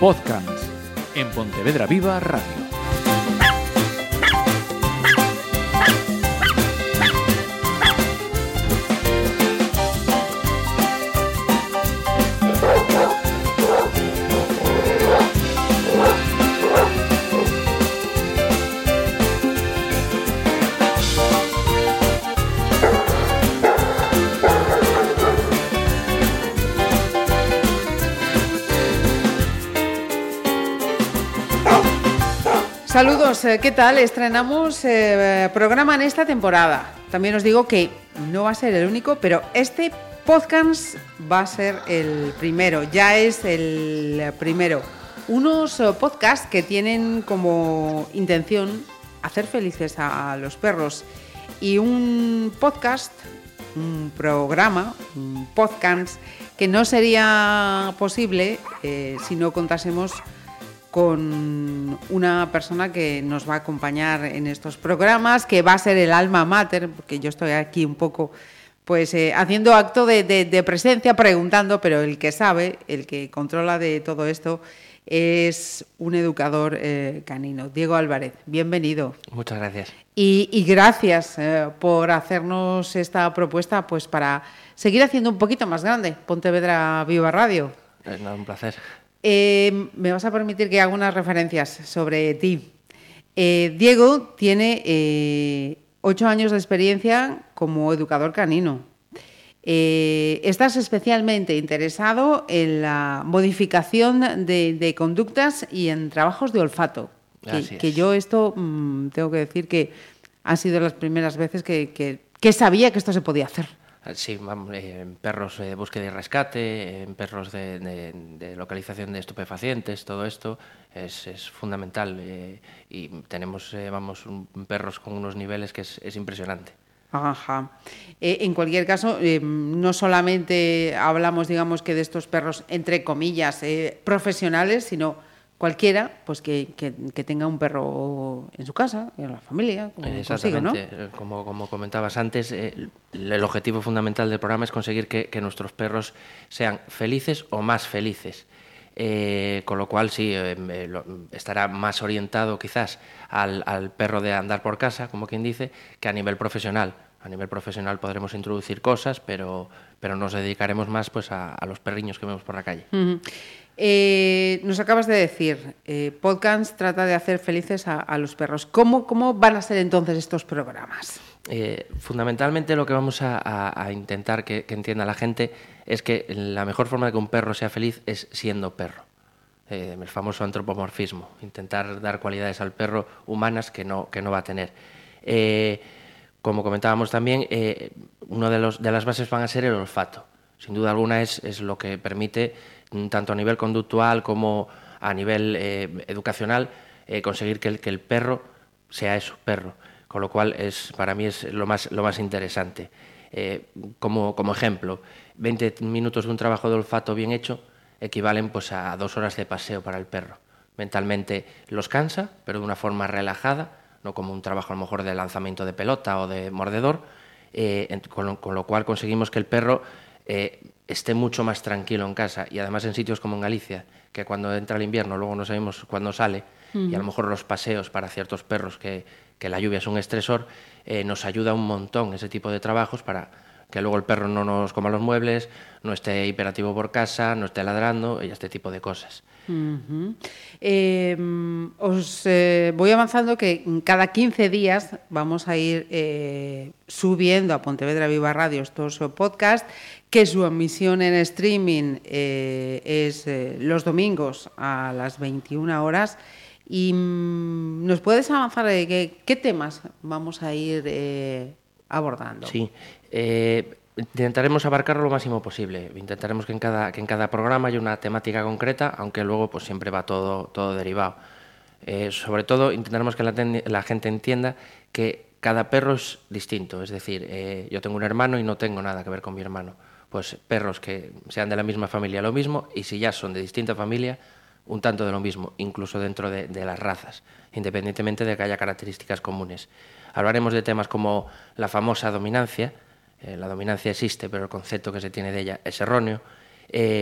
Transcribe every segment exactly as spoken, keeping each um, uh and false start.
Podcast en Pontevedra Viva Radio. Saludos, ¿qué tal? Estrenamos eh, programa en esta temporada. También os digo que no va a ser el único, pero este podcast va a ser el primero, ya es el primero. Unos eh, podcasts que tienen como intención hacer felices a, a los perros. Y un podcast, un programa, un podcast que no sería posible eh, si no contásemos con una persona que nos va a acompañar en estos programas, que va a ser el alma mater, porque yo estoy aquí un poco pues eh, haciendo acto de, de, de presencia, preguntando, pero el que sabe, el que controla de todo esto, es un educador eh, canino. Diego Álvarez, bienvenido. Muchas gracias. Y, y gracias eh, por hacernos esta propuesta pues para seguir haciendo un poquito más grande Pontevedra Viva Radio. Es un placer. Eh, me vas a permitir que haga unas referencias sobre ti. Eh, Diego tiene eh, ocho años de experiencia como educador canino. Eh, estás especialmente interesado en la modificación de, de conductas y en trabajos de olfato. Que, que yo esto mmm, tengo que decir que han sido las primeras veces que, que, que sabía que esto se podía hacer. Sí, en perros de búsqueda y rescate, en perros de, de, de localización de estupefacientes, todo esto es, es fundamental eh, y tenemos eh, vamos un, perros con unos niveles que es, es impresionante. Ajá. Eh, en cualquier caso, eh, no solamente hablamos, digamos, que de estos perros, entre comillas, eh, profesionales, sino cualquiera pues que, que, que tenga un perro en su casa, en la familia, como Exactamente. Consigo, ¿no? Como, como comentabas antes, eh, el objetivo fundamental del programa es conseguir que, que nuestros perros sean felices o más felices. Eh, con lo cual sí, eh, lo, estará más orientado quizás al, al perro de andar por casa, como quien dice, que a nivel profesional. A nivel profesional podremos introducir cosas, pero, pero nos dedicaremos más pues, a, a los perriños que vemos por la calle. Uh-huh. Eh, nos acabas de decir, eh, podcast trata de hacer felices a, a los perros. ¿Cómo, ¿Cómo van a ser entonces estos programas? Eh, fundamentalmente lo que vamos a, a, a intentar que, que entienda la gente es que la mejor forma de que un perro sea feliz es siendo perro. Eh, el famoso antropomorfismo, intentar dar cualidades al perro humanas que no, que no va a tener. Eh, como comentábamos también, eh, una de, los, de las bases van a ser el olfato. Sin duda alguna es, es lo que permite, tanto a nivel conductual como a nivel eh, educacional, eh, conseguir que el, que el perro sea eso, perro. Con lo cual, es, para mí es lo más, lo más interesante. Eh, como, como ejemplo, veinte minutos de un trabajo de olfato bien hecho equivalen pues, a dos horas de paseo para el perro. Mentalmente los cansa, pero de una forma relajada, no como un trabajo a lo mejor de lanzamiento de pelota o de mordedor, eh, con, con lo cual conseguimos que el perro eh, esté mucho más tranquilo en casa, y además en sitios como en Galicia, que cuando entra el invierno luego no sabemos cuándo sale, uh-huh. y a lo mejor los paseos para ciertos perros que, que la lluvia es un estresor, eh, nos ayuda un montón ese tipo de trabajos para que luego el perro no nos coma los muebles, no esté hiperactivo por casa, no esté ladrando y este tipo de cosas. Uh-huh. Eh, os eh, voy avanzando que cada quince días vamos a ir eh, subiendo a Pontevedra Viva Radio estos podcasts, que su emisión en streaming eh, es eh, los domingos a las veintiuna horas. Y mm, ¿nos puedes avanzar de qué, qué temas vamos a ir eh, abordando? Sí, eh, intentaremos abarcarlo lo máximo posible. Intentaremos que en cada, que en cada programa haya una temática concreta, aunque luego pues siempre va todo, todo derivado. Eh, sobre todo intentaremos que la, ten, la gente entienda que cada perro es distinto. Es decir, eh, yo tengo un hermano y no tengo nada que ver con mi hermano. Pues perros que sean de la misma familia lo mismo, y si ya son de distinta familia, un tanto de lo mismo, incluso dentro de, de las razas, independientemente de que haya características comunes. Hablaremos de temas como la famosa dominancia. Eh, la dominancia existe, pero el concepto que se tiene de ella es erróneo. Eh,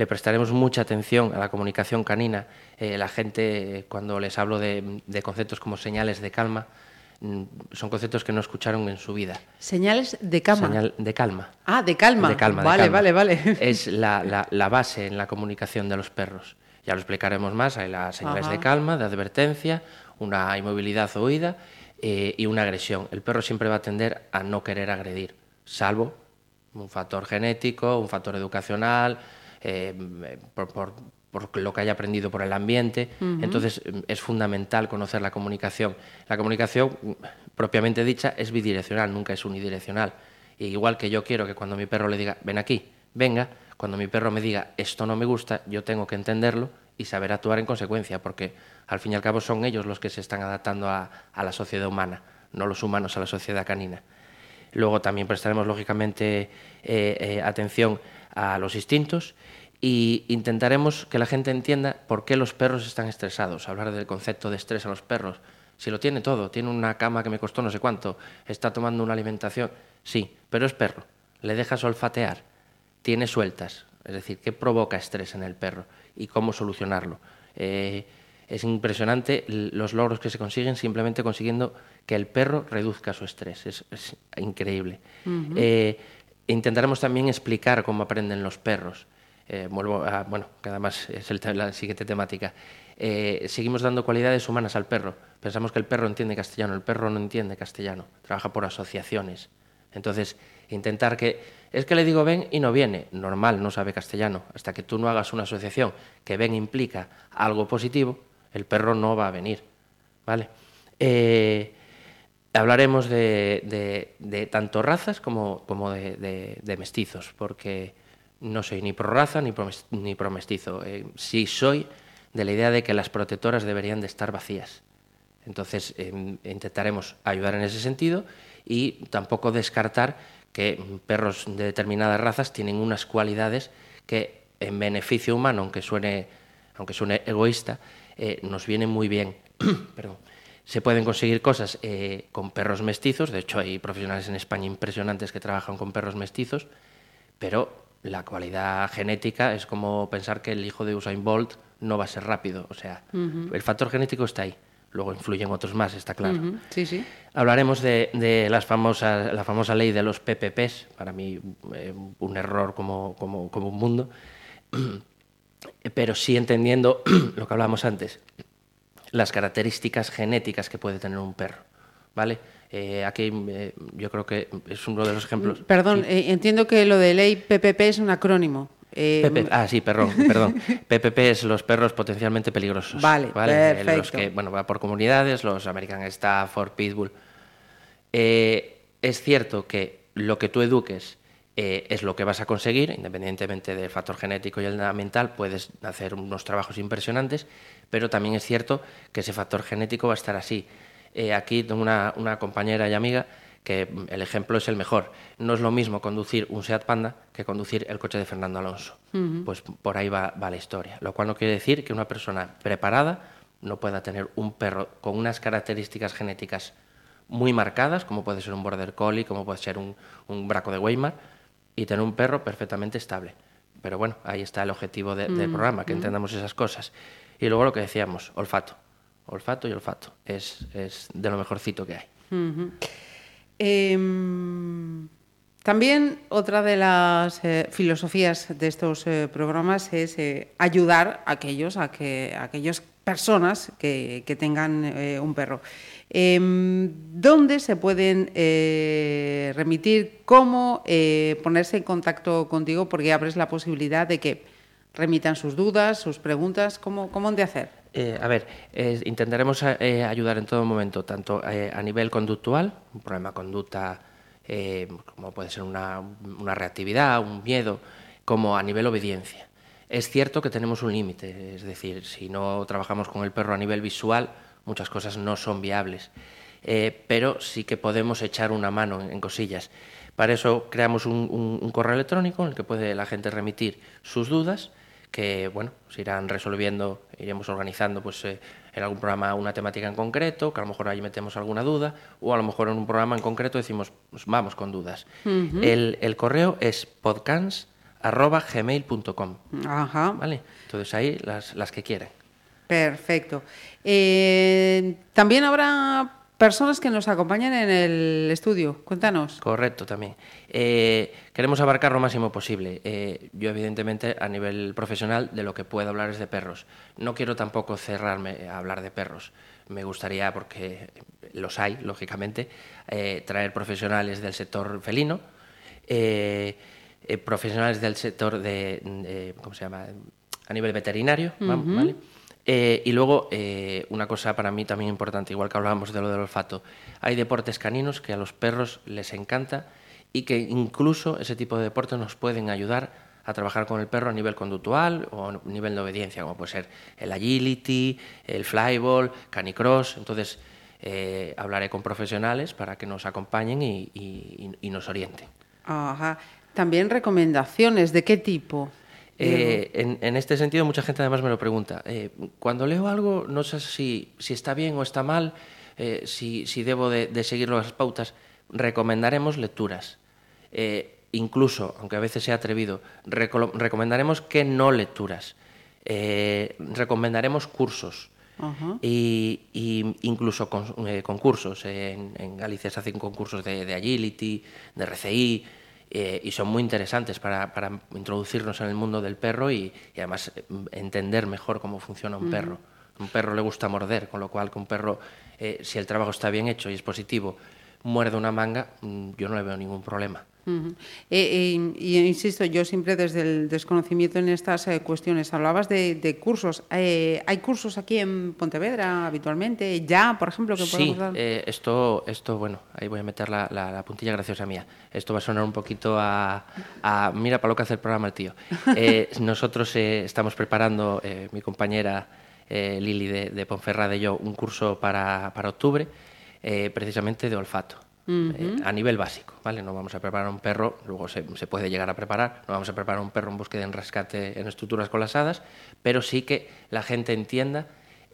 le prestaremos mucha atención a la comunicación canina. Eh, la gente, eh, cuando les hablo de, de conceptos como señales de calma, son conceptos que no escucharon en su vida. Señales de calma. Señal de calma. Ah, de calma. De calma, vale, de calma. vale, vale. Es la, la, la base en la comunicación de los perros. Ya lo explicaremos más. Hay las señales Ajá. de calma, de advertencia, una inmovilidad o huida eh, y una agresión. El perro siempre va a tender a no querer agredir, salvo un factor genético, un factor educacional, eh, por, por, por lo que haya aprendido por el ambiente. Uh-huh. Entonces es fundamental conocer la comunicación. La comunicación, propiamente dicha, es bidireccional, nunca es unidireccional. Y igual que yo quiero que cuando mi perro le diga, ven aquí, venga, cuando mi perro me diga, esto no me gusta, yo tengo que entenderlo y saber actuar en consecuencia, porque al fin y al cabo son ellos los que se están adaptando a, a la sociedad humana, no los humanos a la sociedad canina. Luego también prestaremos, lógicamente, eh, eh, atención a los instintos y intentaremos que la gente entienda por qué los perros están estresados. Hablar del concepto de estrés a los perros. Si lo tiene todo, tiene una cama que me costó no sé cuánto, está tomando una alimentación, sí, pero es perro. Le dejas olfatear, tiene sueltas. Es decir, ¿qué provoca estrés en el perro y cómo solucionarlo? Eh, es impresionante los logros que se consiguen simplemente consiguiendo que el perro reduzca su estrés. Es, es increíble. Uh-huh. Eh, intentaremos también explicar cómo aprenden los perros. Eh, vuelvo a, bueno, que además es el, la siguiente temática. Eh, seguimos dando cualidades humanas al perro. Pensamos que el perro entiende castellano. El perro no entiende castellano. Trabaja por asociaciones. Entonces, intentar que... Es que le digo ven y no viene. Normal, no sabe castellano. Hasta que tú no hagas una asociación que ven implica algo positivo, el perro no va a venir. ¿Vale? Eh, hablaremos de, de, de tanto razas como, como de, de, de mestizos, porque no soy ni pro raza ni pro, ni pro mestizo. Eh, sí soy de la idea de que las protectoras deberían de estar vacías. Entonces, eh, intentaremos ayudar en ese sentido y tampoco descartar que perros de determinadas razas tienen unas cualidades que en beneficio humano, aunque suene, aunque suene egoísta, eh, nos vienen muy bien. Perdón. Se pueden conseguir cosas eh, con perros mestizos. De hecho, hay profesionales en España impresionantes que trabajan con perros mestizos, pero la cualidad genética es como pensar que el hijo de Usain Bolt no va a ser rápido. O sea, uh-huh. el factor genético está ahí. Luego influyen otros más, está claro. Uh-huh. Sí, sí. Hablaremos de, de las famosas, la famosa ley de los P P Ps, para mí eh, un error como, como, como un mundo, pero sí entendiendo lo que hablábamos antes, las características genéticas que puede tener un perro, ¿vale? Eh, aquí eh, yo creo que es uno de los ejemplos... Perdón, sí. eh, entiendo que lo de ley P P P es un acrónimo. Eh, P P, ah, sí, perdón, perdón. P P P es los perros potencialmente peligrosos. Vale, ¿vale? perfecto. Eh, los que, bueno, va por comunidades, los American Stafford, Pitbull. Eh, es cierto que lo que tú eduques eh, es lo que vas a conseguir, independientemente del factor genético y el mental, puedes hacer unos trabajos impresionantes, pero también es cierto que ese factor genético va a estar así. Eh, aquí tengo una, una compañera y amiga que el ejemplo es el mejor. No es lo mismo conducir un Seat Panda que conducir el coche de Fernando Alonso. Uh-huh. Pues por ahí va, va la historia. Lo cual no quiere decir que una persona preparada no pueda tener un perro con unas características genéticas muy marcadas, como puede ser un Border Collie, como puede ser un, un Braco de Weimar, y tener un perro perfectamente estable. Pero bueno, ahí está el objetivo de, uh-huh. del programa, que entendamos esas cosas. Y luego lo que decíamos, olfato. Olfato y olfato. Es, es de lo mejorcito que hay. Uh-huh. Eh, también otra de las eh, filosofías de estos eh, programas es eh, ayudar a aquellos, a que a aquellas personas que, que tengan eh, un perro. Eh, ¿Dónde se pueden eh, remitir? ¿Cómo eh, ponerse en contacto contigo? Porque abres la posibilidad de que remitan sus dudas, sus preguntas. ¿Cómo, cómo han de hacer? Eh, a ver, eh, intentaremos eh, ayudar en todo momento, tanto eh, a nivel conductual, un problema de conducta, eh, como puede ser una, una reactividad, un miedo, como a nivel obediencia. Es cierto que tenemos un límite, es decir, si no trabajamos con el perro a nivel visual, muchas cosas no son viables, eh, pero sí que podemos echar una mano en, en cosillas. Para eso creamos un, un, un correo electrónico en el que puede la gente remitir sus dudas, que bueno, se irán resolviendo, iremos organizando pues eh, en algún programa una temática en concreto, que a lo mejor ahí metemos alguna duda, o a lo mejor en un programa en concreto decimos, pues vamos con dudas. Uh-huh. El, el correo es podcans arroba gmail punto com. Ajá. ¿Vale? Entonces ahí las, las que quieran. Perfecto. Eh, también habrá personas que nos acompañan en el estudio. Cuéntanos. Correcto, también. Eh, queremos abarcar lo máximo posible. Eh, yo, evidentemente, a nivel profesional, de lo que puedo hablar es de perros. No quiero tampoco cerrarme a hablar de perros. Me gustaría, porque los hay, lógicamente, eh, traer profesionales del sector felino, eh, eh, profesionales del sector de, de, ¿cómo se llama?, a nivel veterinario, uh-huh. ¿Vale? Eh, y luego, eh, una cosa para mí también importante, igual que hablábamos de lo del olfato, hay deportes caninos que a los perros les encanta y que incluso ese tipo de deportes nos pueden ayudar a trabajar con el perro a nivel conductual o a nivel de obediencia, como puede ser el agility, el flyball, canicross. Entonces, eh, hablaré con profesionales para que nos acompañen y, y, y nos orienten. Ajá. También recomendaciones, ¿de qué tipo? Eh, en, en este sentido, mucha gente además me lo pregunta. Eh, cuando leo algo, no sé si, si está bien o está mal, eh, si, si debo de, de seguir las pautas. Recomendaremos lecturas. Eh, incluso, aunque a veces sea atrevido, reco- recomendaremos que no lecturas. Eh, recomendaremos cursos. Uh-huh. y, y incluso con, eh, concursos. En, en Galicia se hacen concursos de, de agility, de R C I. Eh, y son muy interesantes para, para introducirnos en el mundo del perro y, y además eh, entender mejor cómo funciona un uh-huh. perro. A un perro le gusta morder, con lo cual que un perro, eh, si el trabajo está bien hecho y es positivo, muerde una manga, yo no le veo ningún problema. Uh-huh. Eh, eh, y insisto, yo siempre desde el desconocimiento en estas eh, cuestiones, hablabas de, de cursos. Eh, ¿Hay cursos aquí en Pontevedra habitualmente? ¿Ya, por ejemplo, que podemos sí, dar? Eh, esto, esto, bueno, ahí voy a meter la, la, la puntilla graciosa mía. Esto va a sonar un poquito a, a mira para lo que hace el programa el tío. Eh, nosotros eh, estamos preparando, eh, mi compañera eh, Lili de, de Ponferrada y yo, un curso para, para octubre, eh, precisamente de olfato. Uh-huh. eh, a nivel básico, ¿vale? No vamos a preparar un perro, luego se, se puede llegar a preparar, no vamos a preparar un perro en búsqueda en rescate en estructuras colapsadas, pero sí que la gente entienda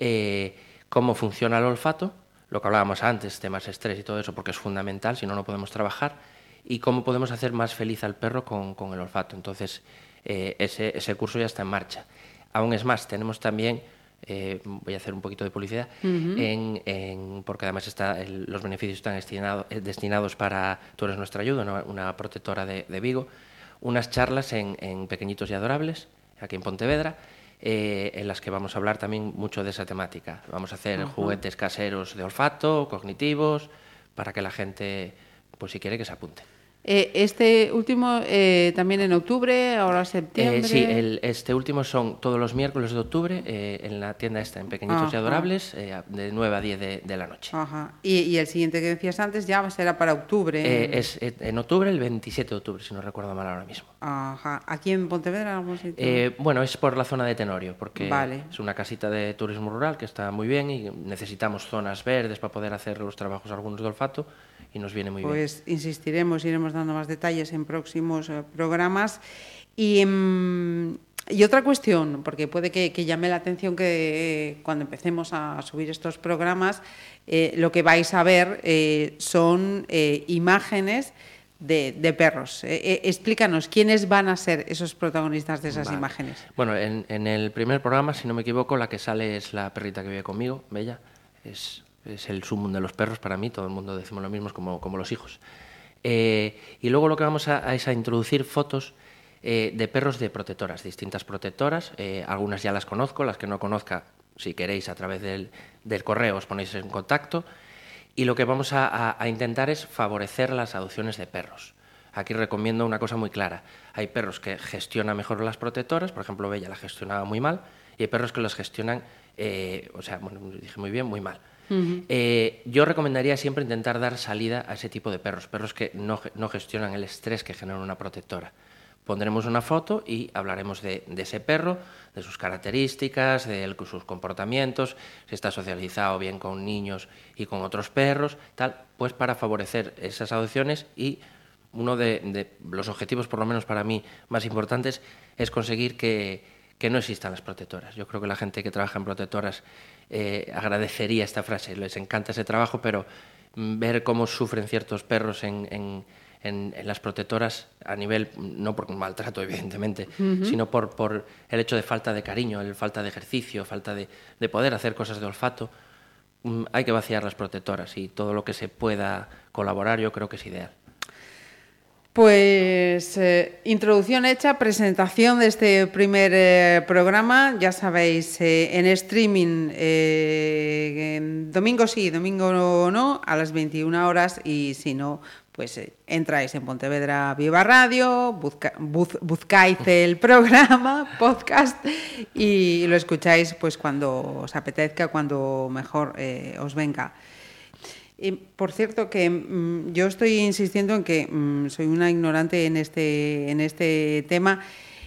eh, cómo funciona el olfato, lo que hablábamos antes, temas estrés y todo eso, porque es fundamental, si no, no podemos trabajar, y cómo podemos hacer más feliz al perro con, con el olfato. Entonces, eh, ese, ese curso ya está en marcha. Aún es más, tenemos también... Eh, voy a hacer un poquito de publicidad, uh-huh. en, en, porque además está el, los beneficios están destinado, eh, destinados para Tú eres nuestra ayuda, una, una protectora de, de Vigo, unas charlas en, en Pequeñitos y Adorables, aquí en Pontevedra, eh, en las que vamos a hablar también mucho de esa temática. Vamos a hacer uh-huh. juguetes caseros de olfato, cognitivos, para que la gente, pues si quiere, que se apunte. Eh, este último eh, también en octubre, ahora septiembre. Eh, sí, el, este último son todos los miércoles de octubre eh, en la tienda esta, en Pequeñitos Ajá. y Adorables, eh, de nueve a diez de, de la noche. Ajá. Y, y el siguiente que decías antes ya será para octubre. Eh, es en octubre, el veintisiete de octubre, si no recuerdo mal ahora mismo. Ajá. ¿Aquí en Pontevedra algún sitio? Eh, bueno, es por la zona de Tenorio, porque vale. es una casita de turismo rural que está muy bien y necesitamos zonas verdes para poder hacer los trabajos algunos de olfato. Y nos viene muy pues bien. Pues insistiremos, iremos dando más detalles en próximos eh, programas. Y, mm, y otra cuestión, porque puede que, que llame la atención que eh, cuando empecemos a subir estos programas, eh, lo que vais a ver eh, son eh, imágenes de, de perros. Eh, eh, explícanos, ¿quiénes van a ser esos protagonistas de esas vale. imágenes? Bueno, en, en el primer programa, si no me equivoco, la que sale es la perrita que vive conmigo, Bella. Es... es el sumum de los perros para mí, todo el mundo decimos lo mismo, como, como los hijos. Eh, y luego lo que vamos a, a es a introducir fotos eh, de perros de protectoras, distintas protectoras, eh, algunas ya las conozco, las que no conozca, si queréis, a través del, del correo os ponéis en contacto, y lo que vamos a, a, a intentar es favorecer las adopciones de perros. Aquí recomiendo una cosa muy clara, hay perros que gestionan mejor las protectoras, por ejemplo, Bella la gestionaba muy mal, y hay perros que los gestionan, eh, o sea, bueno, dije muy bien, muy mal. Uh-huh. Eh, yo recomendaría siempre intentar dar salida a ese tipo de perros, perros que no, no gestionan el estrés que genera una protectora. Pondremos una foto y hablaremos de, de ese perro, de sus características, de sus comportamientos, si está socializado bien con niños y con otros perros, tal, pues para favorecer esas adopciones. Y uno de, de los objetivos, por lo menos para mí, más importantes, es conseguir que, que no existan las protectoras. Yo creo que la gente que trabaja en protectoras Eh, agradecería esta frase, les encanta ese trabajo, pero ver cómo sufren ciertos perros en, en, en, en las protectoras a nivel, no por maltrato evidentemente, uh-huh. sino por, por el hecho de falta de cariño, el falta de ejercicio, falta de, de poder hacer cosas de olfato. Um, hay que vaciar las protectoras y todo lo que se pueda colaborar yo creo que es ideal. Pues eh, introducción hecha, presentación de este primer eh, programa, ya sabéis, eh, en streaming, eh, en domingo sí, domingo no, no, a las veintiuna horas, y si no, pues eh, entráis en Pontevedra Viva Radio, busca, buz, buscáis el programa, podcast, y lo escucháis pues cuando os apetezca, cuando mejor eh, os venga. Eh, por cierto, que mmm, yo estoy insistiendo en que mmm, soy una ignorante en este, en este tema,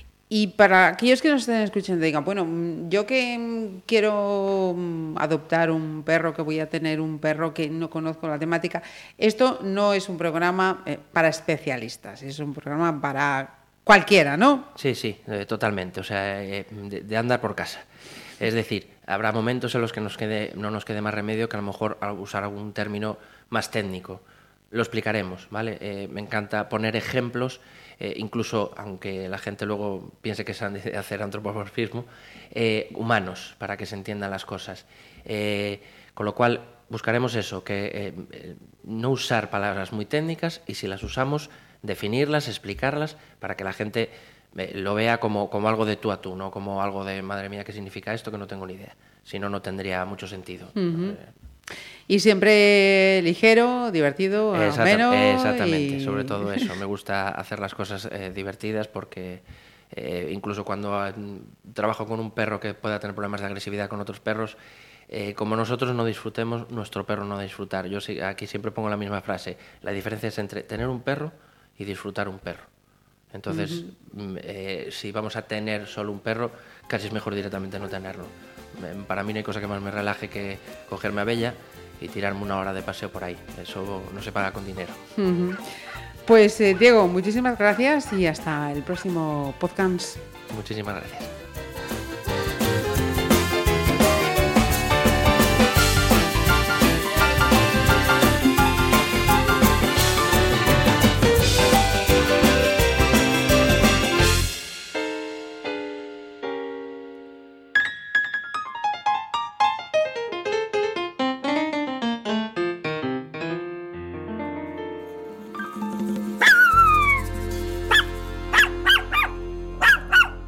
y para aquellos que nos estén escuchando digan, bueno, yo que mmm, quiero mmm, adoptar un perro, que voy a tener un perro que no conozco la temática, esto no es un programa eh, para especialistas, es un programa para cualquiera, ¿no? Sí, sí, eh, totalmente, o sea, eh, de, de andar por casa. Es decir, habrá momentos en los que nos quede, no nos quede más remedio que a lo mejor usar algún término más técnico. Lo explicaremos, ¿vale? Eh, me encanta poner ejemplos, eh, incluso aunque la gente luego piense que se han de hacer antropomorfismo, eh, humanos, para que se entiendan las cosas. Eh, con lo cual buscaremos eso, que eh, no usar palabras muy técnicas, y si las usamos, definirlas, explicarlas, para que la gente lo vea como, como algo de tú a tú, no como algo de madre mía, ¿qué significa esto? Que no tengo ni idea. Si no, no tendría mucho sentido. Uh-huh. eh. Y siempre ligero, divertido, Exacta, ameno. Exactamente, y... sobre todo eso. Me gusta hacer las cosas eh, divertidas porque eh, incluso cuando eh, trabajo con un perro que pueda tener problemas de agresividad con otros perros, eh, como nosotros no disfrutemos, nuestro perro no va a disfrutar. Yo sí, aquí siempre pongo la misma frase. La diferencia es entre tener un perro y disfrutar un perro. Entonces, uh-huh. eh, si vamos a tener solo un perro, casi es mejor directamente no tenerlo. Para mí no hay cosa que más me relaje que cogerme a Bella y tirarme una hora de paseo por ahí. Eso no se paga con dinero. Uh-huh. Pues eh, Diego, muchísimas gracias y hasta el próximo podcast. Muchísimas gracias.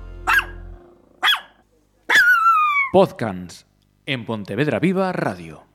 Podcast en Pontevedra Viva Radio.